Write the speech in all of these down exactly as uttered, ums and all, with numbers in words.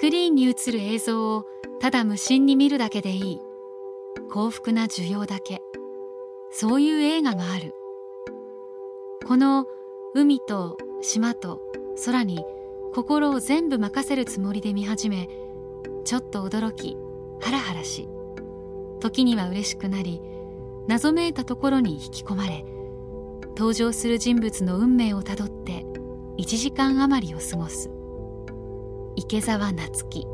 クリーンに映る映像をただ無心に見るだけでいい、幸福な受容だけ、そういう映画がある。この海と島と空に心を全部任せるつもりで見始め、ちょっと驚きハラハラし、時には嬉しくなり、謎めいたところに引き込まれ、登場する人物の運命をたどっていちじかん余りを過ごす。池澤夏樹。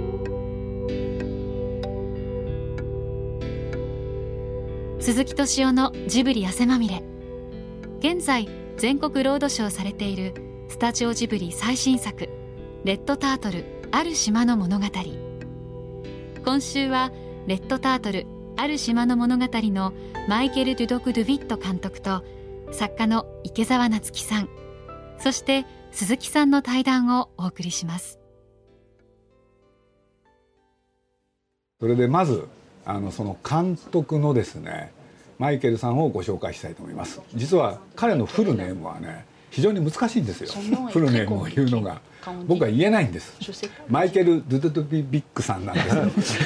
鈴木敏夫のジブリ汗まみれ。現在全国ロードショーされているスタジオジブリ最新作レッドタートルある島の物語。今週はレッドタートルある島の物語のマイケル・デュドク・ドゥビット監督と作家の池澤夏樹さん、そして鈴木さんの対談をお送りします。 それでまずあのその監督のですねマイケルさんをご紹介したいと思います。実は彼のフルネームはね非常に難しいんですよ。フルネームを言うのが僕は言えないんです。マイケル・ドゥドゥドゥビビックさんなんです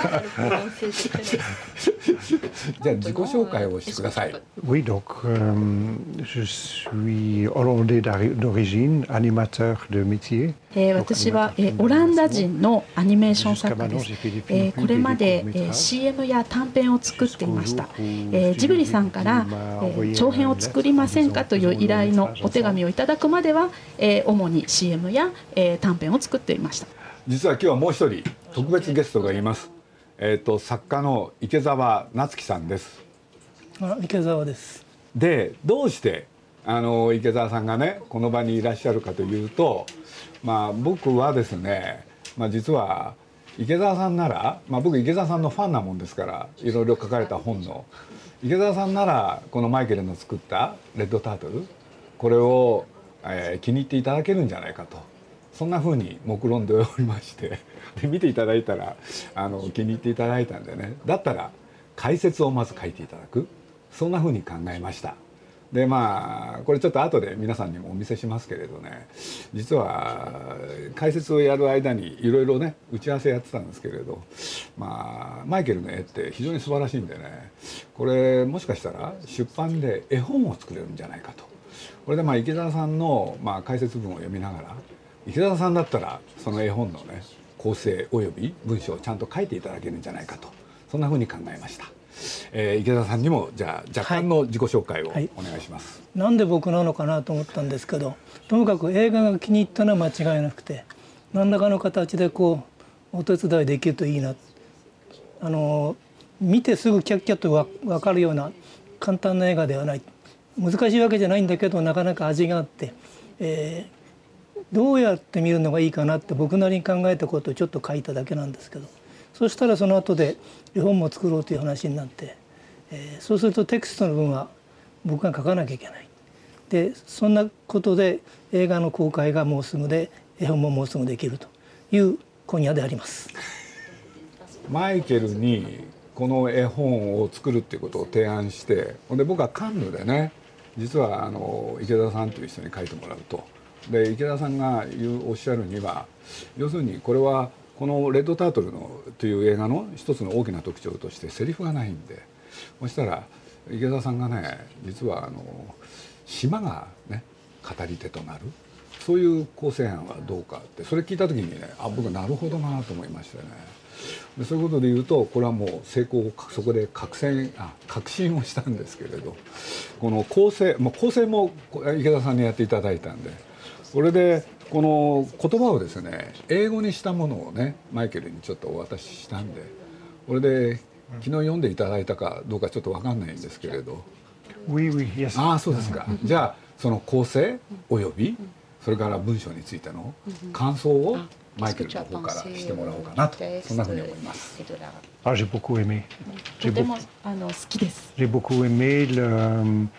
じゃあ自己紹介をしてください。 Oui, donc euh, je suis hollandais d'origine, animateur de métier. えー、私は、えー、オランダ人のアニメーション作家です。えー、これまで、えー、シーエム や短編を作っていました。えー、ジブリさんから、えー、長編を作りませんかという依頼のお手紙をいただくまでは、えー、主に シーエム や、えー、短編を作っていました。 実は今日はもう一人特別ゲストがいます。えー、と作家の池澤夏樹さんです。 あ、池澤です。 でどうしてあの池澤さんがねこの場にいらっしゃるかというと、まあ僕はですね、まあ、実は池澤さんなら、まあ、僕池澤さんのファンなもんですからいろいろ書かれた本の池澤さんならこのマイケルの作ったレッドタートルこれを、えー、気に入っていただけるんじゃないかと、そんな風に目論んでおりましてで見ていただいたらあの気に入っていただいたんでね、だったら解説をまず書いていただく、そんな風に考えました。でまあこれちょっと後で皆さんにもお見せしますけれどね、実は解説をやる間にいろいろね打ち合わせやってたんですけれど、まあマイケルの絵って非常に素晴らしいんでね、これもしかしたら出版で絵本を作れるんじゃないかと。これでまあ池澤さんのまあ解説文を読みながら、池澤さんだったらその絵本のね構成および文章をちゃんと書いていただけるんじゃないかと、そんなふうに考えました。えー、池澤さんにもじゃあ若干の自己紹介をお願いします。 はいはい、なんで僕なのかなと思ったんですけど、ともかく映画が気に入ったのは間違いなくて、何らかの形でこうお手伝いできるといいな、あの見てすぐキャッキャッと分かるような簡単な映画ではない、難しいわけじゃないんだけどなかなか味があって、えー、どうやって見るのがいいかなって僕なりに考えたことをちょっと書いただけなんですけど、そしたらその後で絵本も作ろうという話になって、えー、そうするとテキストの分は僕が書かなきゃいけない。でそんなことで映画の公開がもうすぐで絵本ももうすぐできるという今夜であります。 マイケルにこの絵本を作るっていうことを提案して、で僕はカンヌでね実はあの池田さんという人に書いてもらうと、で池田さんが言うおっしゃるには、要するにこれはこの「レッドタートルの」という映画の一つの大きな特徴としてセリフがないんで、そしたら池田さんがね実はあの島がね語り手となるそういう構成案はどうかって、それ聞いた時にね、あ僕なるほどなと思いましてね。でそういうことで言うとこれはもう成功をそこで確信あ確信をしたんですけれど、この構成もう構成も池田さんにやっていただいたんで、それでこの言葉をですね英語にしたものをねマイケルにちょっとお渡ししたんで、これで昨日読んでいただいたかどうかちょっと分かんないんですけれど、 Oui, oui, yes. ああそうですか。じゃあその構成およびそれから文章についての感想をマイケルの方からしてもらおうかなと、そんなふうに思います。 Ah, j'ai beaucoup aimé. とてもあの好きです。 J'ai beaucoup aimé le,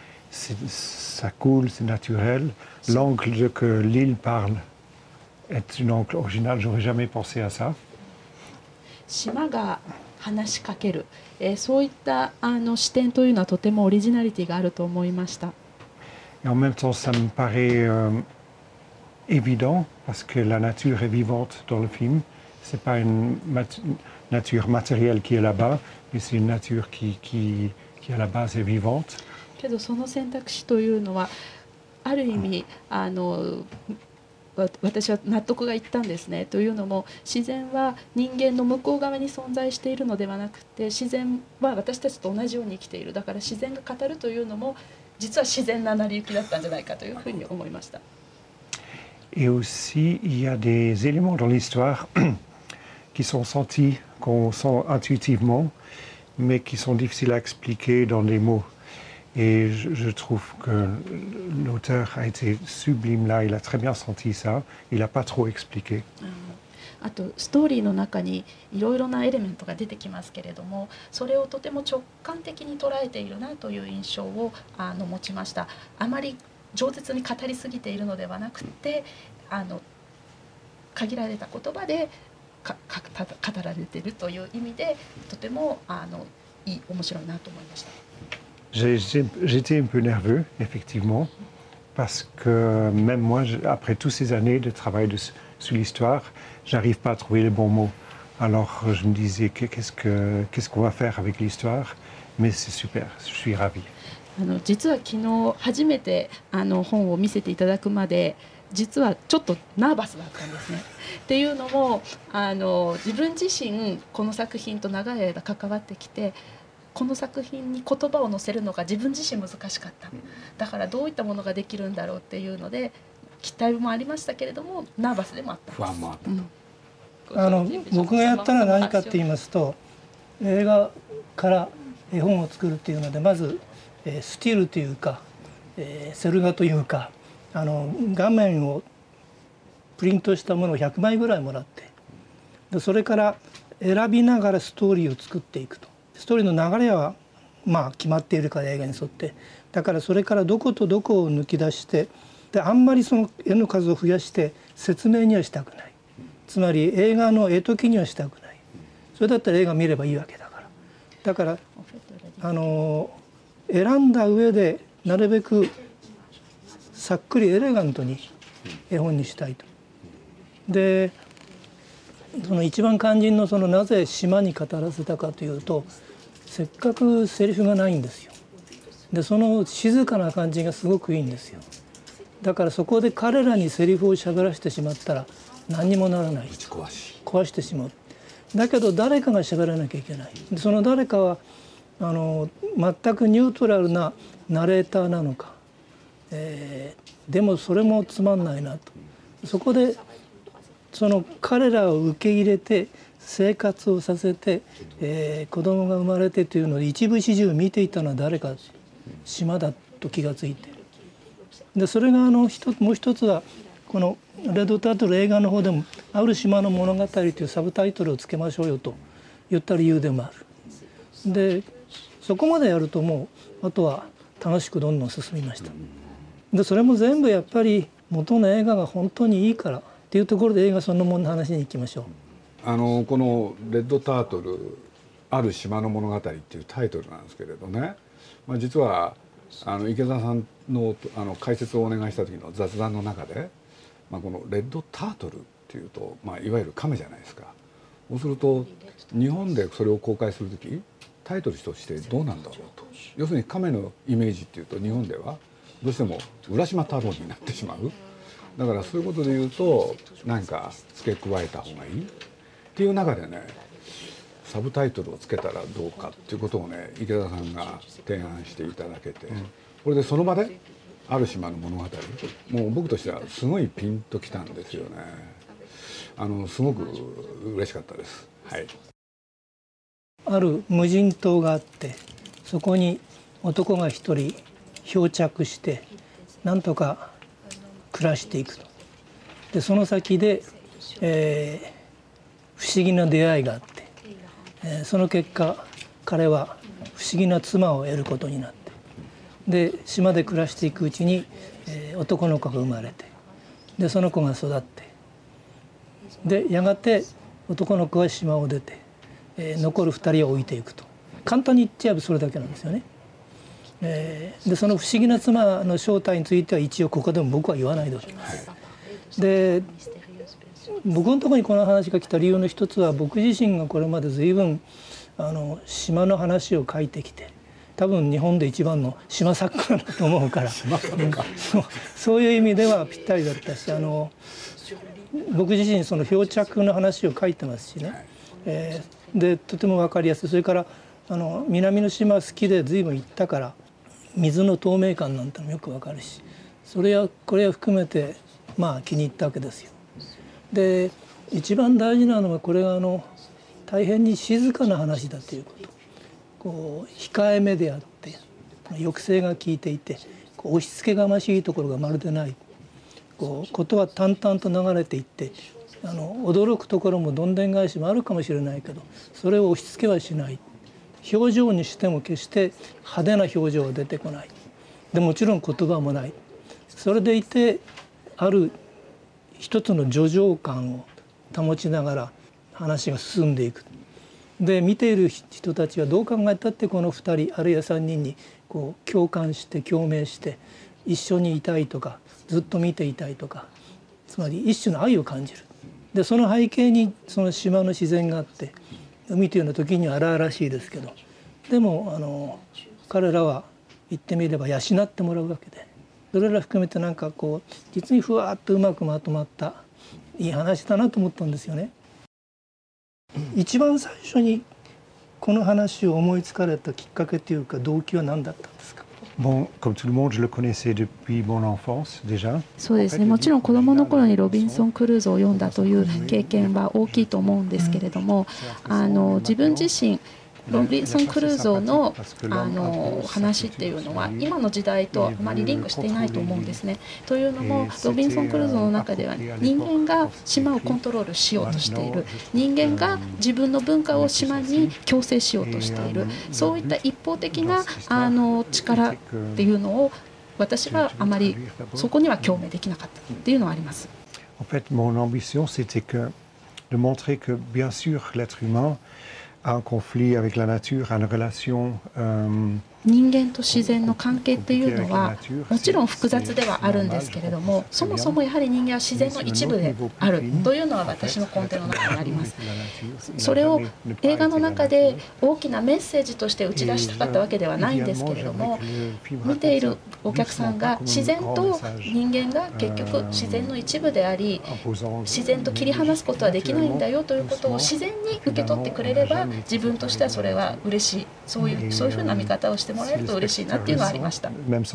ça coule, c'est naturel. L'angle que l'île parle est une angle originale. J'aurais jamais pensé à ça. 島が話しかける、えー、そういったあの視点というのはとてもオリジナリティがあると思いました。 Et en même temps, ça me paraît euh, évident parce que la nature est vivante dans le film. C'est pas une mat- nature matérielle qui est là-bas, mais c'est une nature qui, qui, qui à la base est vivante. けどその選択肢というのはある意味あの私は納得がいったんですね。というのも自然は人間の向こう側に存在しているのではなくて、自然は私たちと同じように生きている。だから自然が語るというのも実は自然な成り行きだったんじゃないかというふうに思いました。 Et aussi, il y a des éléments dans l'histoire qui sont sentis, qu'on sent intuitivement, mais qui sont difficiles à expliquer dans les mots. Et je, je trouve que l'auteur a été sublime là, il a très bien senti ça, il n'a pas trop expliqué. あとストーリーの中にいろいろなエレメントが出てきますけれども、それをとても直感的に捉えているなという印象をあの持ちました。あまり饒舌に語りすぎているのではなくて、あの限られた言葉でかか語られているという意味でとてもあのいい面白いなと思いました。 J'étais un peu nerveux, effectivement, parce que même moi, après toutes ces années de travail de, sur l'histoire, j'arrive pas à trouver les bons mots. Alors je me disais, qu'est-ce que, qu'est-ce qu'on va faire avec l'histoire? Mais c'est super, je suis ravi. あの実は昨日初めてあの本を見せていただくまで実はちょっとナーバスだったんですね。っていうのもあの自分自身この作品と長い間関わってきて、この作品に言葉を載せるのが自分自身難しかった。だからどういったものができるんだろうっていうので期待もありましたけれどもナーバスでもあったんです。不安もあった。 うん、あの僕がやったのは何かって言いますと、映画から絵本を作るっていうのでまずえー、スティールというか、えー、セル画というかあの画面をプリントしたものをひゃくまいぐらいもらって、でそれから選びながらストーリーを作っていくと。ストーリーの流れはまあ決まっているから映画に沿って、だからそれからどことどこを抜き出して、であんまりその絵の数を増やして説明にはしたくない。つまり映画の絵解きにはしたくない。それだったら映画見ればいいわけだから。だからあの選んだ上でなるべくさっくりエレガントに絵本にしたいと。でその一番肝心のそのなぜ島に語らせたかというと、せっかくセリフがないんですよ。でその静かな感じがすごくいいんですよ。だからそこで彼らにセリフを喋らせてしまったら何にもならない。壊してしまう。だけど誰かが喋らなきゃいけない。でその誰かはあの全くニュートラルなナレーターなのか、えー、でもそれもつまんないなと。そこでその彼らを受け入れて生活をさせて、えー、子供が生まれてというので一部始終見ていたのは誰か、島だと気がついて、でそれがあの一つもう一つはこのレッドタートル映画の方でも「ある島の物語」というサブタイトルをつけましょうよと言った理由でもある。でそこまでやるともうあとは楽しくどんどん進みました。でそれも全部やっぱり元の映画が本当にいいからっていうところで映画そのものの話に行きましょう。 あのこの「レッドタートルある島の物語」っていうタイトルなんですけれどね、まあ、実はあの池澤さん の, あの解説をお願いした時の雑談の中で、まあ、この「レッドタートル」っていうと、まあ、いわゆる亀じゃないですか。そうすると日本でそれを公開する時タイトルとしてどうなんだろうと。要するに亀のイメージっていうと日本ではどうしても浦島太郎になってしまう。だからそういうことで言うと何か付け加えた方がいいっていう中でね、サブタイトルをつけたらどうかっていうことをね池田さんが提案していただけて、これでその場である島の物語、もう僕としてはすごいピンときたんですよね。あのすごく嬉しかったです。はい。 ある無人島があって、そこに男が一人漂着してなんとか暮らしていくと。でその先で、えー、不思議な出会いがあって、えー、その結果彼は不思議な妻を得ることになって、で島で暮らしていくうちに、えー、男の子が生まれて、でその子が育って、でやがて男の子は島を出て、えー、残るふたりを置いていくと。簡単に言っちゃえばそれだけなんですよね。えー、でその不思議な妻の正体については一応ここでも僕は言わないでおきます。 で僕のところにこの話が来た理由の一つは、僕自身がこれまで随分あの島の話を書いてきて、多分日本で一番の島作家だと思うから、うん、そう、そういう意味ではぴったりだったし、あの僕自身その漂着の話を書いてますしね、えー、でとても分かりやすい。それからあの南の島好きで随分行ったから、水の透明感なんてのもよく分かるし、それやこれを含めてまあ気に入ったわけですよ。で一番大事なのは、これがあの大変に静かな話だということ。こう控えめであって、抑制が効いていて、こう押し付けがましいところがまるでない。こうことは淡々と流れていって、あの驚くところもどんでん返しもあるかもしれないけど、それを押し付けはしない。表情にしても決して派手な表情は出てこない。でもちろん言葉もない。それでいてある一つの叙情感を保ちながら話が進んでいく。で見ている人たちはどう考えたってこのふたりあるいはさんにんにこう共感して共鳴して一緒にいたいとか、ずっと見ていたいとか、つまり一種の愛を感じる。でその背景にその島の自然があって、海というのは時には荒々しいですけど、でもあの彼らは言ってみれば養ってもらうわけで、それら含めてなんかこう実にふわっとうまくまとまったいい話だなと思ったんですよね。一番最初にこの話を思いつかれたきっかけというか動機は何だったんですか。 Bon, comme tout le monde, je le connaissais depuis mon enfance déjà. そうですね。もちろん子どもの頃にロビンソン・クルーズを読んだという経験は大きいと思うんですけれども、あの自分自身ロビンソン・クルーゾーのあの話っていうのは今の時代とあまりリンクしていないと思うんですね。というのもロビンソン・クルーゾーの中では人間が島をコントロールしようとしている、人間が自分の文化を島に強制しようとしている、そういった一方的なあの力っていうのを私はあまりそこには共鳴できなかったっていうのはあります。 En fait, mon ambition, c'était que de montrer que bien sûr l'être humain a un conflit avec la nature, a une relation. Euh, 人間と自然の関係っていうのはもちろん複雑ではあるんですけれども、そもそもやはり人間は自然の一部であるというのは私の根底の中にあります。それを映画の中で大きなメッセージとして打ち出したかったわけではないんですけれども、見ているお客さんが自然と人間が結局自然の一部であり、自然と切り離すことはできないんだよということを自然に受け取ってくれれば、自分としてはそれは嬉しい、そういうそういうふうな見方をしてもらえると嬉しいなっていうのはありました。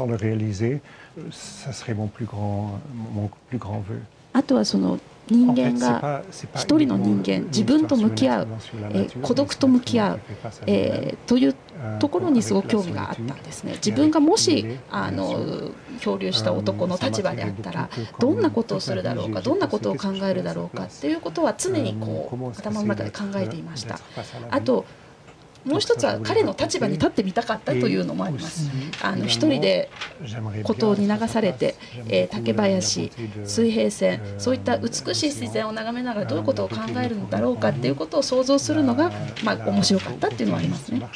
あとはその人間が一人の人間、自分と向き合う、えー、孤独と向き合う、えー、というところにすごく興味があったんですね。自分がもしあの漂流した男の立場であったらどんなことをするだろうか、どんなことを考えるだろうかっていうことは常にこう頭の中で考えていました。あともう一つは彼の立場に立ってみたかったというのもあります。あの一人で孤島に流されて、えー、竹林、水平線、そういった美しい自然を眺めながらどういうことを考えるんだろうかっていうことを想像するのが、まあ、面白かったっていうのはありますね。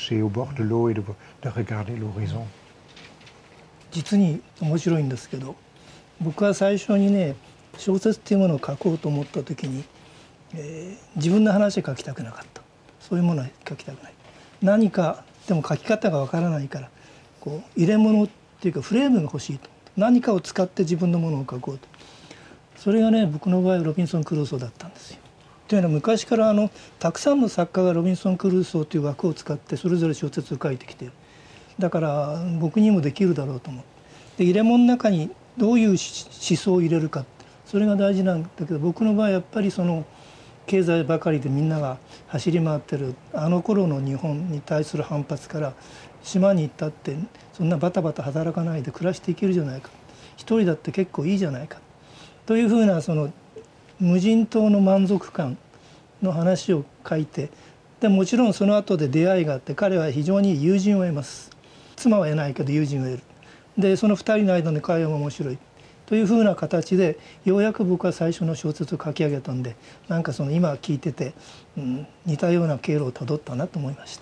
実に面白いんですけど、僕は最初にね小説っていうものを書こうと思った時に、えー、自分の話を書きたくなかった。そういうものは書きたくない。何かでも書き方がわからないから、こう入れ物っていうかフレームが欲しいと、何かを使って自分のものを書こうと。それがね僕の場合ロビンソン・クルーソーだったんですよ。というのは昔からあのたくさんの作家がロビンソン・クルーソーという枠を使ってそれぞれ小説を書いてきている。だから僕にもできるだろうと思って、で入れ物の中にどういう思想を入れるか、それが大事なんだけど、僕の場合やっぱりその経済ばかりでみんなが走り回ってるあの頃の日本に対する反発から、島に行ったってそんなバタバタ働かないで暮らしていけるじゃないか、一人だって結構いいじゃないかというふうなその無人島の満足感の話を書いて、でもちろんその後で出会いがあって、彼は非常に友人を得ます。妻は得ないけど友人を得る。でそのふたりの間の会話も面白いというふうな形で、ようやく僕は最初の小説を書き上げたんで、なんかその今聞いてて、うん、似たような経路をたどったなと思いました。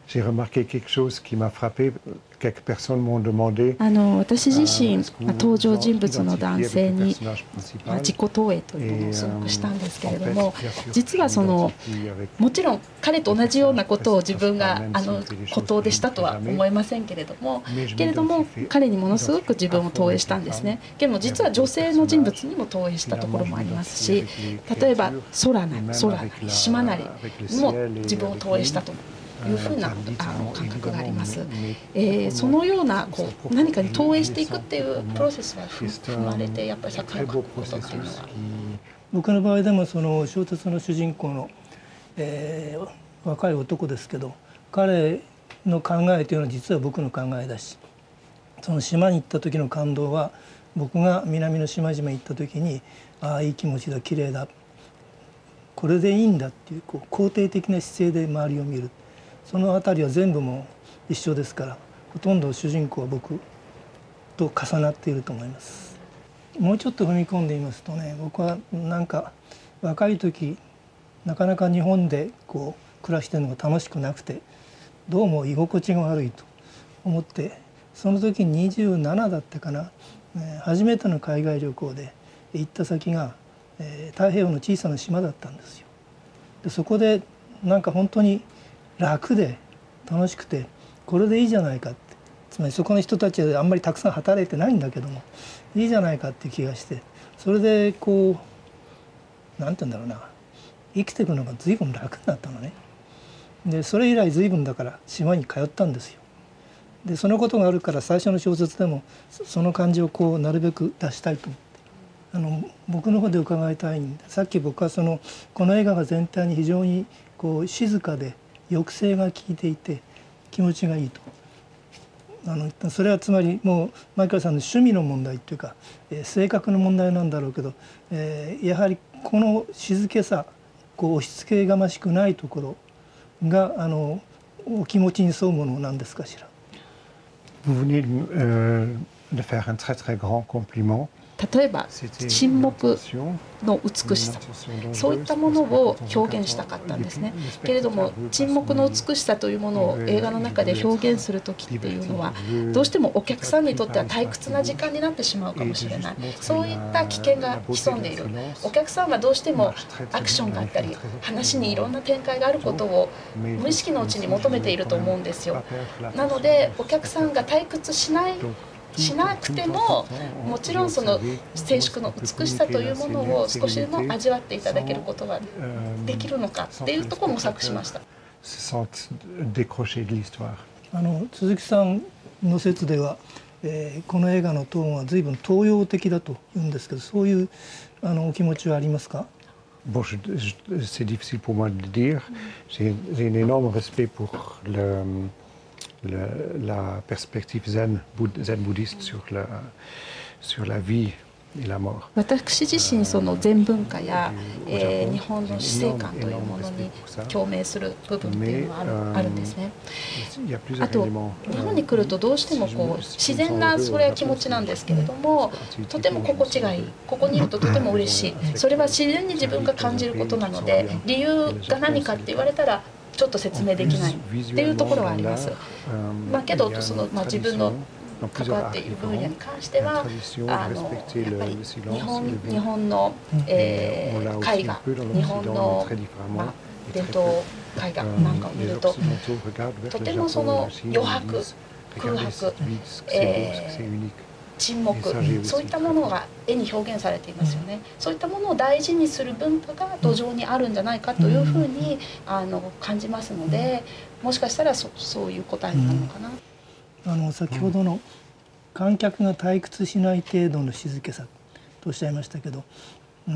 j'ai remarqué quelque chose qui m'a frappé. Quelques personnes m'ont demandé. あの私自身、まあ、登場人物の男性に、まあ、自己投影というのをすごくしたんですけれども、実はそのもちろん彼と同じようなことを自分があの孤島でしたとは思いませんけれどもけれども彼にものすごく自分を投影したんですね。けども実は女性の人物にも投影したところもありますし、例えば空なり空なり島なりにも自分を投影したというふうなあの感覚があります。えー、そのようなこう何かに投影していくっていうプロセスが踏まれてやっぱり作品を書くことっていうのは。 僕の場合でもその小説の主人公の、えー、若い男ですけど、彼の考えというのは実は僕の考えだし、その島に行った時の感動は僕が南の島々に行った時に、ああいい気持ちだ、綺麗だ、これでいいんだっていう、こう肯定的な姿勢で周りを見る。そのあたりは全部も一緒ですから、ほとんど主人公は僕と重なっていると思います。もうちょっと踏み込んでみますとね、僕はなんか若い時なかなか日本でこう暮らしてるのが楽しくなくて、どうも居心地が悪いと思って、その時にじゅうななだったかな、初めての海外旅行で行った先が太平洋の小さな島だったんですよ。でそこでなんか本当に楽で楽しくて、これでいいじゃないかって、つまりそこの人たちはあんまりたくさん働いてないんだけどもいいじゃないかって気がして、それでこうなんて言うんだろうな、生きていくのが随分楽になったのね。でそれ以来随分だから島に通ったんですよ。でそのことがあるから最初の小説でもその感じをこうなるべく出したいと思って、あの僕の方で伺いたいんで、さっき僕はそのこの映画が全体に非常にこう静かで抑制が効いていて気持ちがいいと。あのそれはつまりもうマイケルさんの趣味の問題っていうか、えー、性格の問題なんだろうけど、えー、やはりこの静けさ、こう押し付けがましくないところがあのお気持ちに沿うものなんですかしら。 Vous venez de faire un très très grand compliment. 例えば沈黙の美しさ、そういったものを表現したかったんですね。けれども沈黙の美しさというものを映画の中で表現する時っていうのはどうしてもお客さんにとっては退屈な時間になってしまうかもしれない。そういった危険が潜んでいる。お客さんはどうしてもアクションがあったり話にいろんな展開があることを無意識のうちに求めていると思うんですよ。なのでお客さんが退屈しないしなくても、もちろんその静粛の美しさというものを少しでも味わっていただけることができるのかっていうところを模索しました。 あの鈴木さんの説では、えー、この映画のトーンは随分東洋的だと言うんですけど、そういうあのお気持ちはありますか ？Bon, c'est difficile pour moi de le dire. J'ai un énorme respect pour le Le, la perspective zen, zen bouddhiste sur la, sur la vie et la mort. 私自身その禅文化や、えー、日本の死生観というものに共鳴する部分っていうのはある、あるんですね。あと日本に来るとどうしてもこう自然なそれは気持ちなんですけれども、とても心地がいい、ここにいるととても嬉しい、それは自然に自分が感じることなので、理由が何かって言われたらちょっと説明できないっていうところはあります。まあ、けどその、まあ、自分の関わっている分野に関してはあのやっぱり日本、日本の、えー、絵画、日本の、まあ、伝統絵画なんかを見るととてもその余白、空白、えー沈黙、そういったものが絵に表現されていますよね。そういったものを大事にする文化が土壌にあるんじゃないかというふうにあの感じますので、もしかしたら そ, そういう答えになるのかな。 あの先ほどの観客が退屈しない程度の静けさとおっしゃいましたけど、うん、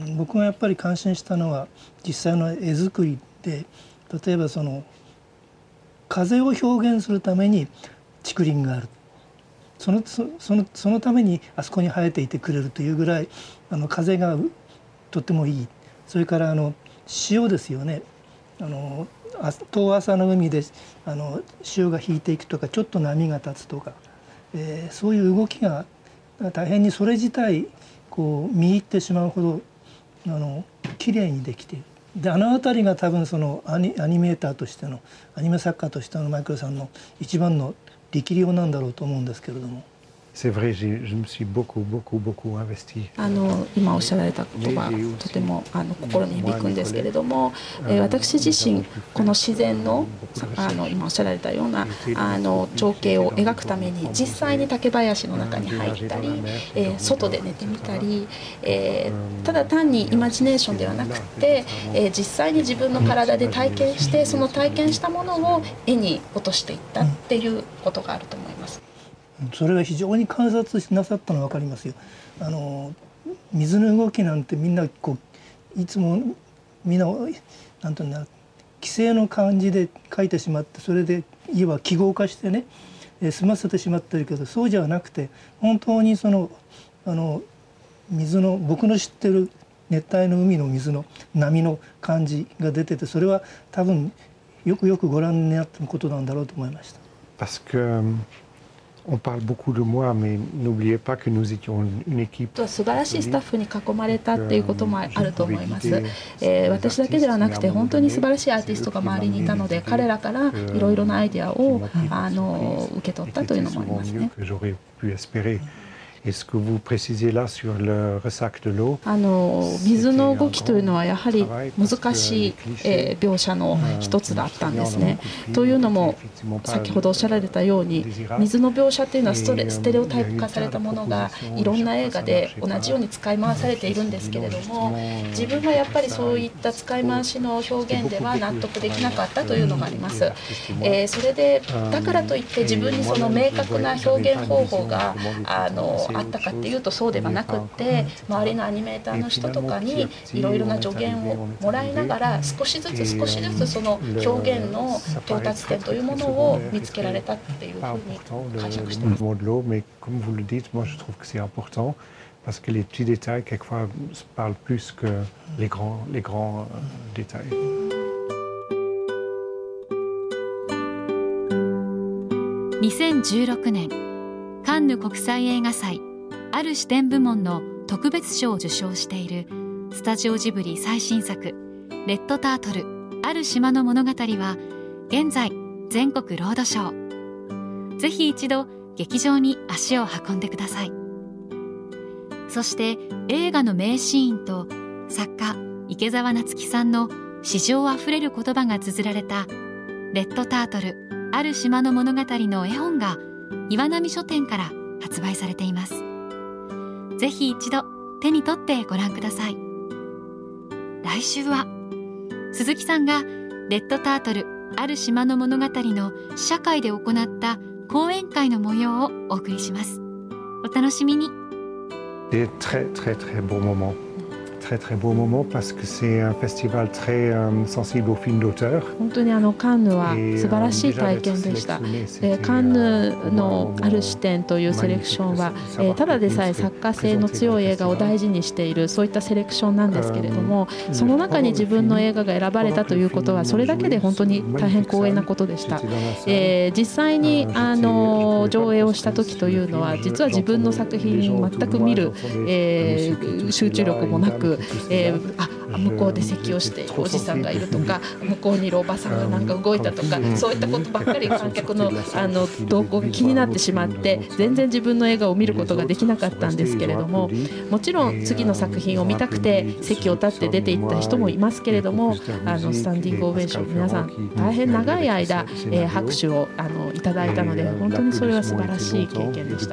僕がやっぱり感心したのは実際の絵作りで、例えばその風を表現するために竹林がある。その、その、そのためにあそこに生えていてくれるというぐらいあの風がとってもいい。それからあの潮ですよね。あの遠浅の海であの潮が引いていくとか、ちょっと波が立つとか、えー、そういう動きが大変にそれ自体こう見入ってしまうほどあの綺麗にできている。 であの辺りが多分そのア ニ, アニメーターとしてのアニメ作家としてのマイケルさんの一番の力量なんだろうと思うんですけれども。 C'est vrai, je me suis beaucoup, beaucoup, beaucoup investi. あの今おっしゃられた言葉とてもあの心に響くんですけれども、えー、私自身この自然のあの今おっしゃられたようなあの情景を描くために実際に竹林の中に入ったり、えー、外で寝てみたり、えー、ただ単にイマジネーションではなくて、えー、実際に自分の体で体験してその体験したものを絵に落としていったっていうことがあると思います。 それが非常に観察なさったのは分かりますよ。あの水の動きなんてみんなこういつもみんななんていうんだ規制の感じで描いてしまってそれでいわば記号化してね済ませてしまってるけどそうじゃなくて本当にそのあの水の僕の知ってる熱帯の海の水の波の感じが出ててそれは多分よくよくご覧になってることなんだろうと思いました。 Parce que On parle beaucoup de moi, mais n'oubliez pas que nous étions une équipe. 素晴らしいスタッフに囲まれたっていうこともあると思います。えー、私だけではなくて本当に素晴らしいアーティストが周りにいたので、彼らからいろいろなアイデアをあの受け取ったというのもありますね。 Est-ce que vous précisez là sur le ressac de l'eau? あの水の動きというのはやはり難しい、えー、描写の一つだったんですね。というのも先ほどおっしゃられたように水の描写というのはストレステレオタイプ化されたものがいろんな映画で同じように使い回されているんですけれども、自分はやっぱりそういった使い回しの表現では納得できなかったというのがあります。えー、それでだからといって自分にその明確な表現方法があのあったかっていうとそうではなくって、周りのアニメーターの人とかにいろいろな助言をもらいながら少しずつ少しずつその表現の到達点というものを見つけられたっていうふうに解釈しています。 Parce que les petits détails, quelquefois, parlent plus que les grands, les grands détails. にせんじゅうろくねんカンヌ国際映画祭ある視点部門の特別賞を受賞しているスタジオジブリ最新作レッドタートルある島の物語は現在全国ロードショー。ぜひ一度劇場に足を運んでください。そして映画の名シーンと作家池澤夏樹さんの詩情あふれる言葉が綴られたレッドタートルある島の物語の絵本が岩波書店から発売されています。ぜひ一度手に取ってご覧ください。来週は鈴木さんがレッドタートルある島の物語の試写会で行った講演会の模様をお送りします。お楽しみに。 Des très très très beaux moments. Très très beau moment parce que c'est un festival très euh, sensible aux films d'auteur. 本当にあのカンヌは素晴らしい体験でした。でカンヌのある視点というセレクションは、えー、ただでさえ作家性の強い映画を大事にしているそういったセレクションなんですけれども、その中に自分の映画が選ばれたということはそれだけで本当に大変光栄なことでした。えー、実際にあの上映をした時というのは実は自分の作品を全く見る、えー、集中力もなくえー、あ向こうで咳をしているおじさんがいるとか向こうにいるおばさんがなんか動いたとかそういったことばっかり観客のあの動向が気になってしまって全然自分の映画を見ることができなかったんですけれども、もちろん次の作品を見たくて席を立って出ていった人もいますけれども、あのスタンディングオベーション皆さん大変長い間、えー、拍手をあのいただいたので本当にそれは素晴らしい経験でした。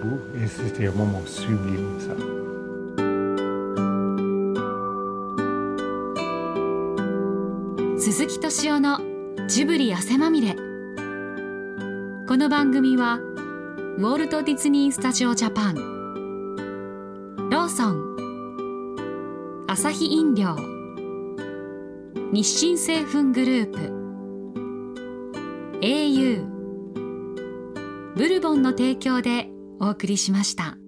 鈴木敏夫のジブリ汗まみれ。この番組はウォルト・ディズニー・スタジオ・ジャパン、ローソン、アサヒ飲料、日清製粉グループ、 エーユー、ブルボンの提供でお送りしました。